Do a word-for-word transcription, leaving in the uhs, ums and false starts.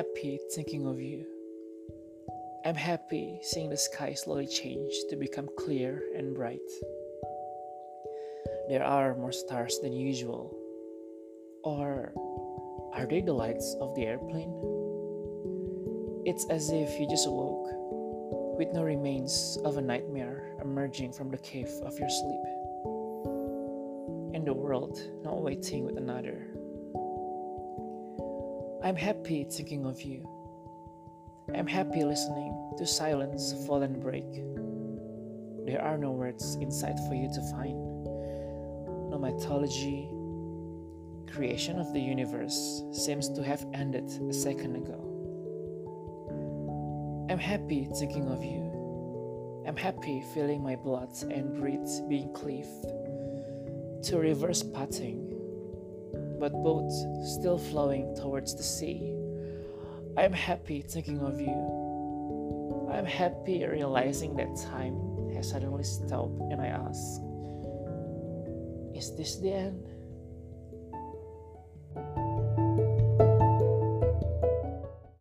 happy thinking of you. I'm happy seeing the sky slowly change to become clear and bright. There are more stars than usual. Or are they the lights of the airplane? It's as if you just awoke, with no remains of a nightmare emerging from the cave of your sleep, and the world not waiting with another. I'm happy thinking of you. I'm happy listening to silence fall and break. There are no words inside for you to find. No mythology, creation of the universe seems to have ended a second ago. I'm happy thinking of you. I'm happy feeling my blood and breath being cleaved to reverse pathing, but both still flowing towards the sea. I'm happy thinking of you. I'm happy realizing that time has suddenly stopped, and I ask, is this the end?